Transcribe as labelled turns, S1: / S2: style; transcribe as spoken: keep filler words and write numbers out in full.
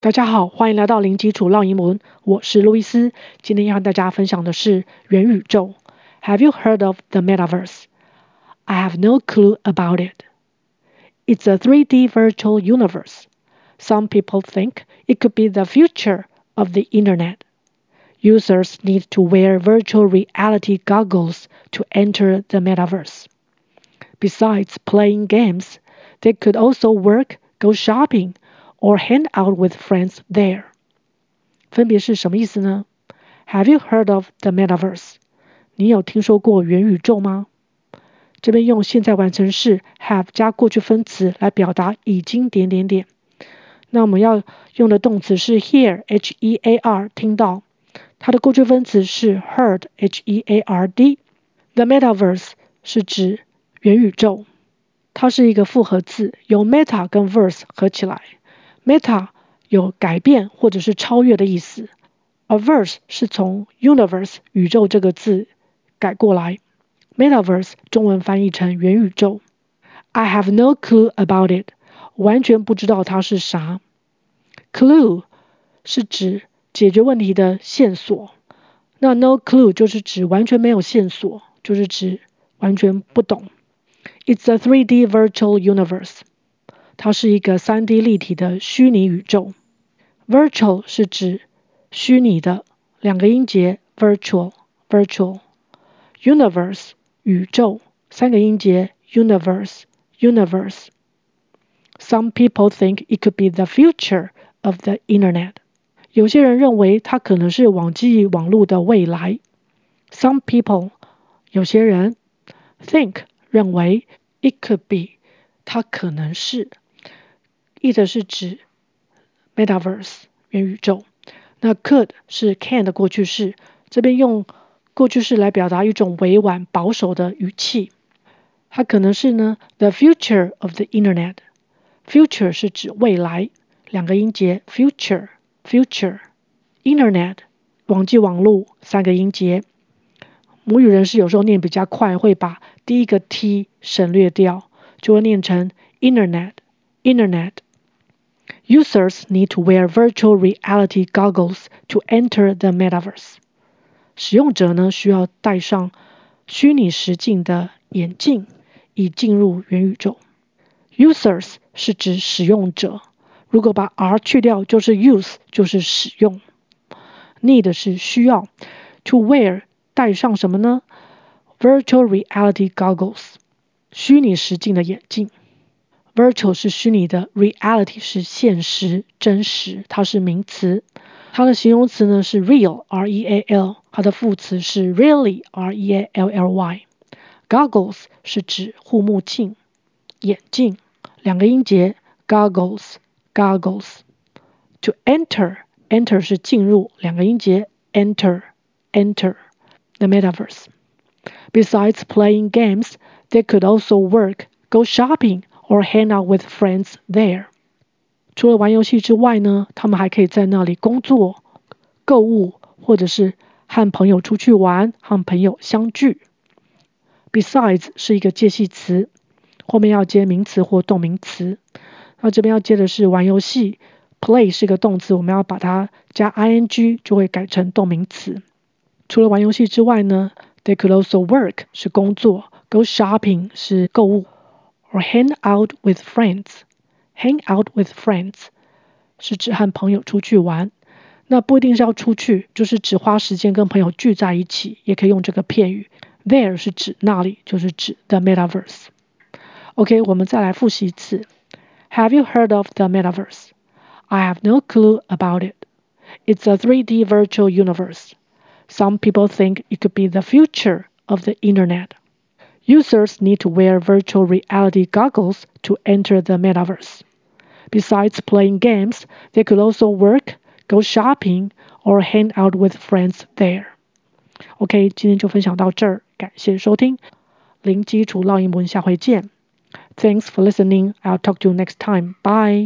S1: 大家好，歡迎來到零基礎繞英文，我是路易斯。今天要和大家分享的是元宇宙。Have you heard of the metaverse? I have no clue about it. It's a three D virtual universe. Some people think it could be the future of the internet. Users need to wear virtual reality goggles to enter the metaverse. Besides playing games, they could also work, go shopping, or hang out with friends there. 分別是什麼意思呢？ Have you heard of the metaverse? 你有聽說過元宇宙嗎？這邊用現在完成式 have 加過去分詞來表達已經點點點。那我們要用的動詞是 hear H E A R 聽到，它的過去分詞是 heard H E A R D。 The metaverse 是指元宇宙，它是一個複合字，由 meta 跟 verse 合起來。Meta 有改變或者是超越的意思，而 verse 是從 universe 宇宙這個字改過來。Metaverse 中文翻譯成元宇宙。I have no clue about it， 完全不知道它是啥。Clue 是指解決問題的線索，那 no clue 就是指完全沒有線索，就是指完全不懂。It's a three D virtual universe。它是一個 三 D 立體的虛擬宇宙。Virtual 是指虛擬的，兩個音節 virtual virtual。Universe 宇宙，三個音節 universe universe。Some people think it could be the future of the internet。有些人認為它可能是網際網絡的未來。Some people 有些人 think 認為 it could be 它可能是。it 是指 metaverse 元宇宙，那 could 是 can 的過去式，這邊用過去式來表達一種委婉保守的語氣。它可能是呢 the future of the internet。 future 是指未來，兩個音節 future future。 internet 網際網絡，三個音節。母語人士有時候念比較快，會把第一個 t 省略掉，就會念成 internet internet。Users need to wear virtual reality goggles to enter the metaverse. 使用者呢需要戴上虛擬實境的眼鏡，以進入元宇宙。Users 是指使用者，如果把 r 去掉就是 use， 就是使用。Need 是需要。To wear 戴上什麼呢？ Virtual reality goggles 虛擬實境的眼鏡。Virtual 是虛擬的， reality 是現實真實，它是名詞。它的形容詞呢是 real R E A L， 它的副詞是 really R E A L L Y。 Goggles 是指護目鏡眼鏡，兩個音節 goggles goggles。 To enter enter 是進入，兩個音節 enter enter the metaverse。 Besides playing games, they could also work, go shopping or hang out with friends there。 除了玩遊戲之外呢，他們還可以在那裡工作、購物，或者是和朋友出去玩，和朋友相聚。Besides 是一個介系詞，後面要接名詞或動名詞。那這邊要接的是玩遊戲， play 是個動詞，我們要把它加 ing 就會改成動名詞。除了玩遊戲之外呢， they could also work 是工作， go shopping 是購物，or hang out with friends. Hang out with friends 是指和朋友出去玩，那不一定是要出去，就是只花時間跟朋友聚在一起，也可以用這個片語。There 是指那裡，就是指 the metaverse。 OK， 我們再來複習一次。Have you heard of the metaverse? I have no clue about it. It's a three D virtual universe. Some people think it could be the future of the internet.Users need to wear virtual reality goggles to enter the metaverse. Besides playing games, they could also work, go shopping, or hang out with friends there. OK， 今天就分享到這兒，感謝收聽，零基礎繞英文，下回見。Thanks for listening. I'll talk to you next time. Bye.